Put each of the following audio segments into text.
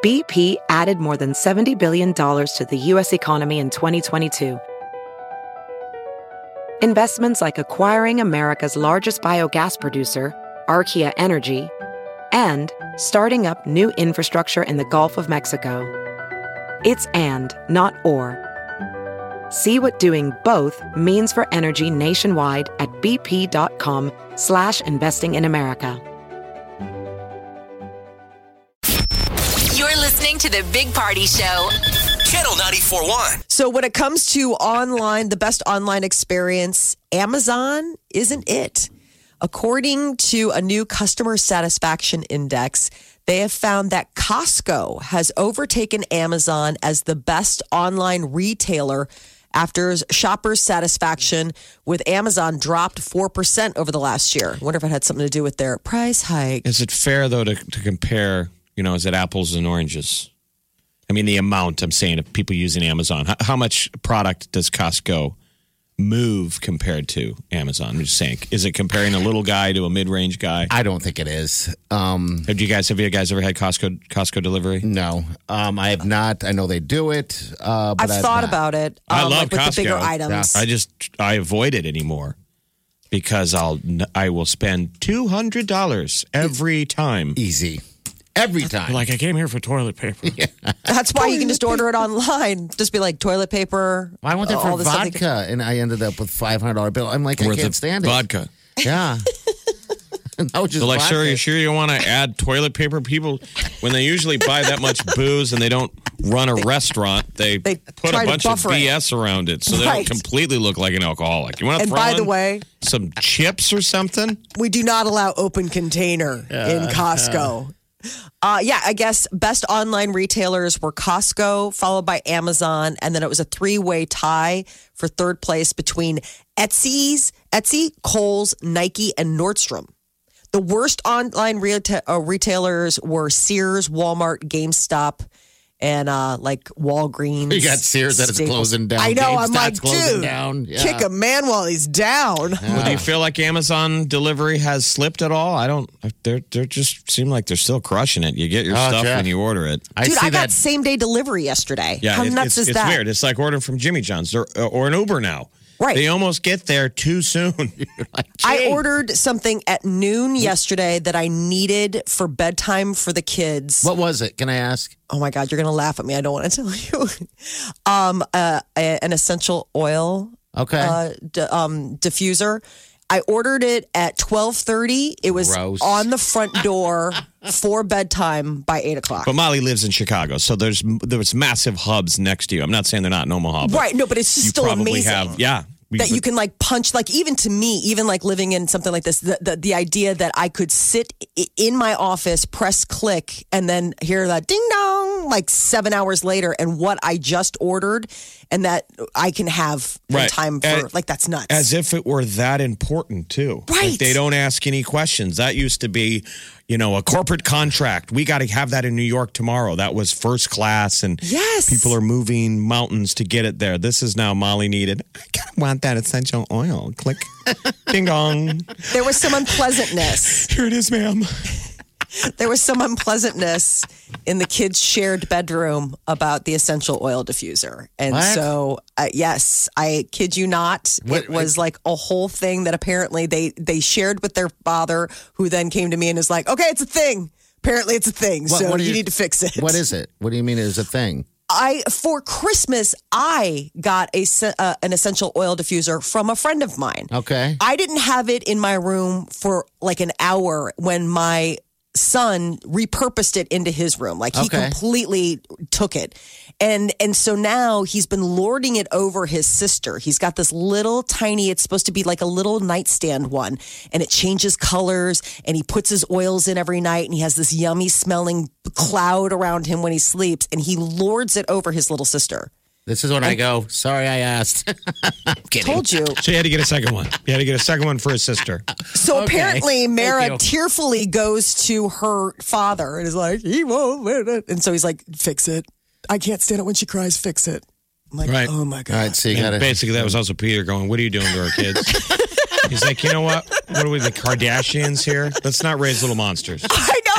BP added more than $70 billion to the U.S. economy in 2022. Investments like acquiring America's largest biogas producer, Archaea Energy, and starting up new infrastructure in the Gulf of Mexico. It's and, not or. See what doing both means for energy nationwide at bp.com/investing in America. You're listening to the Big Party Show. Channel 94.1. So when it comes to online, the best online experience, Amazon isn't it. According to a new customer satisfaction index, they have found that Costco has overtaken Amazon as the best online retailer after shoppers' satisfaction with Amazon dropped 4% over the last year. I wonder if it had something to do with their price hike. Is it fair, though, to compare, is it apples and oranges? I mean, the amount, I'm saying, of people using Amazon. How much product does Costco move compared to Amazon? I'm just saying, is it comparing a little guy to a mid-range guy? I don't think it is. Have you guys ever had Costco delivery? No, I have not. I know they do it. But I've thought about it. I love with Costco. the bigger items. Yeah. I avoid it anymore because I will spend $200 every time. Easy. Every time. Like, I came here for toilet paper. Yeah. That's why you can just order it online. Just be like toilet paper. I went there for vodka, and I ended up with $500 bill. I'm like, I can't stand it. Vodka. Yeah. No, just so like, vodka. sir, you sure you want to add toilet paper? People, when they usually buy that much booze and they don't run a restaurant, they put a bunch of BS around it so they don't completely look like an alcoholic. You want to throw by the way, some chips or something? We do not allow open container in Costco. I guess best online retailers were Costco, followed by Amazon, and then it was a three-way tie for third place between Etsy, Kohl's, Nike, and Nordstrom. The worst online retailers were Sears, Walmart, GameStop, and like Walgreens. You got Sears that is closing down. I know. GameStop's I'm like, dude, down. Yeah. kick a man while he's down. Yeah. Well, do you feel like Amazon delivery has slipped at all? I don't. They just seem like they're still crushing it. You get your stuff when you order it. Dude, I got same day delivery yesterday. Yeah, how nuts is that? It's weird. It's like ordering from Jimmy John's or an Uber now. Right. They almost get there too soon. Like, I ordered something at noon yesterday that I needed for bedtime for the kids. What was it? Can I ask? Oh my God, you're going to laugh at me. I don't want to tell you. An essential oil diffuser. I ordered it at 12:30. It was on the front door for bedtime by 8 o'clock. But Molly lives in Chicago, so there's massive hubs next to you. I'm not saying they're not in Omaha. But right, no, but it's just still amazing. That you can like punch, like even to me, even like living in something like this, the idea that I could sit in my office, press click, and then hear that ding dong like 7 hours later, and what I just ordered, and that I can have in time for like that's nuts. As if it were that important too. Right? Like they don't ask any questions. That used to be, a corporate contract. We got to have that in New York tomorrow. That was first class, and people are moving mountains to get it there. This is now Molly needed. I kind of want that essential oil. Click, ding dong. There was some unpleasantness. Here it is, ma'am. There was some unpleasantness in the kids' shared bedroom about the essential oil diffuser. And so, yes, I kid you not, it was like a whole thing that apparently they shared with their father, who then came to me and was like, okay, it's a thing. Apparently it's a thing. So you need to fix it. What is it? What do you mean it's a thing? For Christmas, I got an essential oil diffuser from a friend of mine. Okay. I didn't have it in my room for like an hour when my son repurposed it into his room. Like he completely took it. And so now he's been lording it over his sister. He's got this little tiny, it's supposed to be like a little nightstand one, and it changes colors, and he puts his oils in every night, and he has this yummy smelling cloud around him when he sleeps, and he lords it over his little sister. This is when I go, sorry I asked. I'm kidding. Told you. So you had to get a second one. You had to get a second one for his sister. So apparently Mara tearfully goes to her father and is like, he won't. And so he's like, fix it. I can't stand it when she cries. Fix it. I'm like, oh my God. All right, so you gotta... Basically, that was also Peter going, what are you doing to our kids? He's like, you know what? What are we, the Kardashians here? Let's not raise little monsters. I know.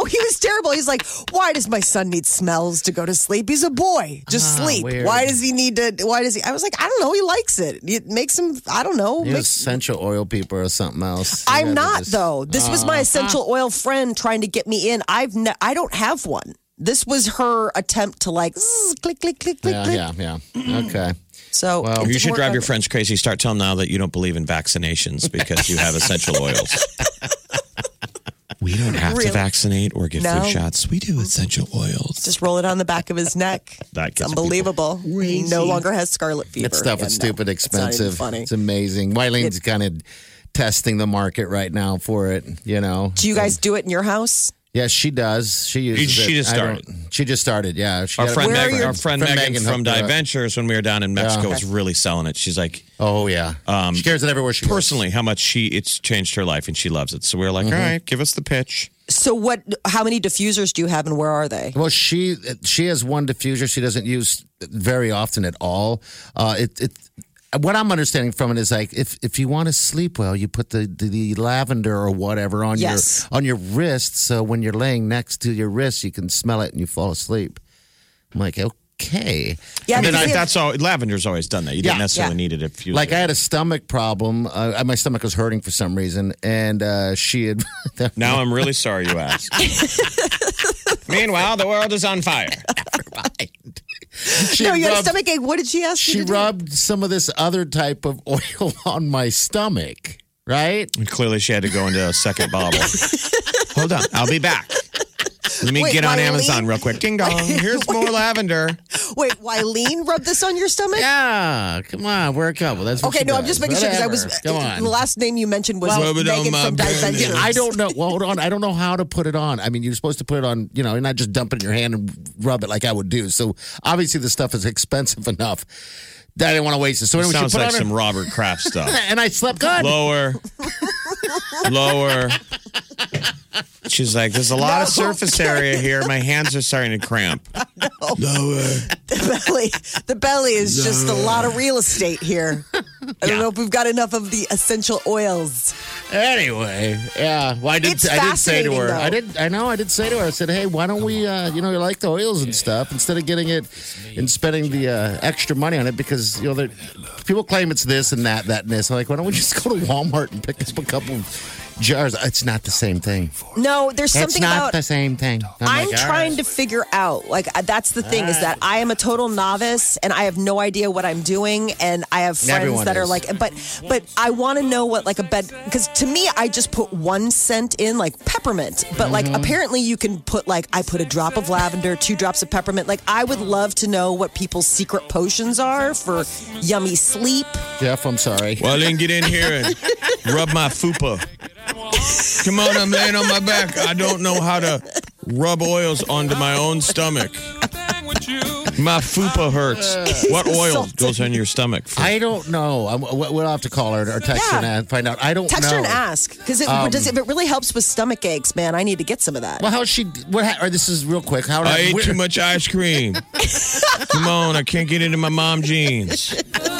No, he was terrible. He's like, why does my son need smells to go to sleep? He's a boy. Just sleep. Weird. Why does he need to? Why does he? I was like, I don't know. He likes it. It makes him. I don't know. You're essential oil people or something else. I'm not though. This was my essential oil friend trying to get me in. I don't have one. This was her attempt to like click, click, click, click, click. Yeah. Okay. So you should drive your friends crazy. Start telling them now that you don't believe in vaccinations because you have essential oils. We don't have to vaccinate or get flu shots. We do essential oils. Just roll it on the back of his neck. It's unbelievable. He no longer has scarlet fever. That stuff is stupid expensive. It's not even funny. It's amazing. Wylene's kind of testing the market right now for it, you know. Do you guys do it in your house? Yes, she does. She uses She it. just started. She just started, yeah. Our friend Megan from hooked her up. Ventures, when we were down in Mexico, was really selling it. She's like, oh, yeah. She carries it everywhere she goes. Personally, how much it's changed her life and she loves it. So we were like, all right, give us the pitch. So how many diffusers do you have and where are they? Well, she has one diffuser she doesn't use very often at all. What I'm understanding from it is like if you want to sleep well, you put the lavender or whatever on your wrist, so when you're laying next to your wrist, you can smell it and you fall asleep. I'm like, okay. Yeah, that's all. Lavender's always done that. You didn't necessarily need it if you I had a stomach problem. My stomach was hurting for some reason, and she had. Now I'm really sorry you asked. Meanwhile, the world is on fire. You had a stomach ache. What did she ask you to do? She rubbed some of this other type of oil on my stomach, right? And clearly, she had to go into a second bottle. Hold on. I'll be back. Let me get on Amazon real quick. Ding dong. Here's more lavender. Wait, Wyleen rubbed this on your stomach? Yeah. Come on. We're a couple. That's what okay, no, I'm just making sure because Come on. The last name you mentioned was Megan from Diventures. I don't know. Well, hold on. I don't know how to put it on. I mean, you're supposed to put it on, and not just dump it in your hand and rub it like I would do. So obviously, the stuff is expensive enough that I didn't want to waste it. So anyway, sounds like some Robert Kraft stuff. And I slept good. Lower. She's like, there's a lot of surface area here. My hands are starting to cramp. Lower. The belly is just a lot of real estate here. I don't know if we've got enough of the essential oils. Anyway, yeah. Well, I did say to her. Though. I did say to her. I said, hey, why don't we, you like the oils and stuff, instead of getting it and spending the extra money on it, because people claim it's this and that and this. I'm like, why don't we just go to Walmart and pick up a couple jars? It's not the same thing. No, there's something about... It's not the same thing. I'm trying to figure out, that's the thing, is that I am a total novice and I have no idea what I'm doing, and I have friends that are like, but I want to know what a bed, because to me, I just put 1 scent in, like peppermint, but apparently you can put I put a drop of lavender, 2 drops of peppermint. I would love to know what people's secret potions are for yummy sleep. Jeff, I'm sorry. Well, then get in here and rub my fupa. Come on, I'm laying on my back. I don't know how to rub oils onto my own stomach. My fupa hurts. What oil goes on your stomach? I don't know. We'll have to call her or text her and find out. I don't know. Text her and ask. Because if it really helps with stomach aches, man, I need to get some of that. Well, this is real quick. I ate too much ice cream. Come on, I can't get into my mom jeans.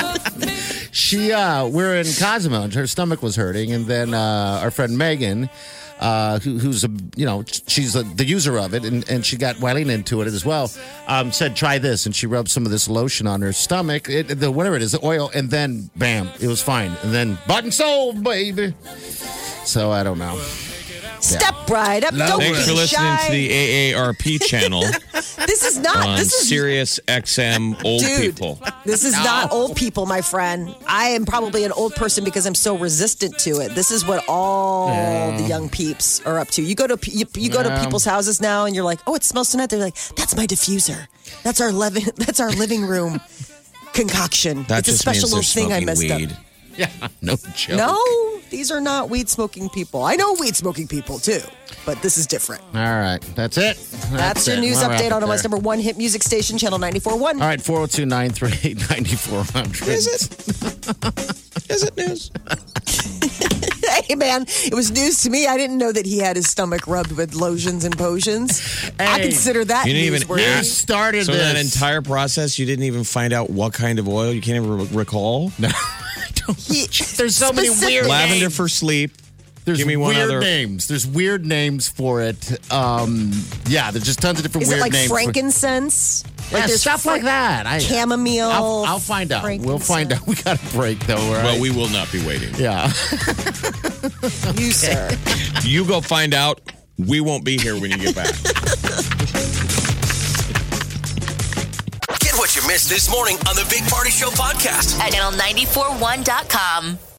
We're in Cozumel, and her stomach was hurting, and then our friend Megan, who's she's the user of it, and she got Wyleen into it as well. Said try this, and she rubbed some of this lotion on her stomach, whatever it is, the oil, and then bam, it was fine, and then bought and sold, baby. So I don't know. Step right up. Don't Thanks for listening to the AARP channel. This is not. On this is Sirius XM old people. This is not old people, my friend. I am probably an old person because I'm so resistant to it. This is what all the young peeps are up to. You go to go to people's houses now, and you're like, "Oh, it smells so nice." They're like, "That's my diffuser. That's our living room concoction. That it's a just special means little thing I messed weed. up." Yeah, no joke. No, these are not weed smoking people. I know weed smoking people too, but this is different. All right, that's it. That's your news update on Omaha's #1 hit music station, Channel 94.1. All right, 402-938-9400. Is it? Is it news? Hey, man, it was news to me. I didn't know that he had his stomach rubbed with lotions and potions. I consider that You started so this. that entire process, you didn't even find out what kind of oil? You can't even recall? No. There's so many weird lavender for sleep, There's Give me one weird other names. There's weird names for it. There's just tons of different weird names. Is it like frankincense? Yeah, stuff like that. Chamomile. I'll find out. We'll find out. We got a break, though. Right? Well, we will not be waiting. Yeah. You, sir. You go find out. We won't be here when you get back. Get what you missed this morning on the Big Party Show podcast at channel941.com.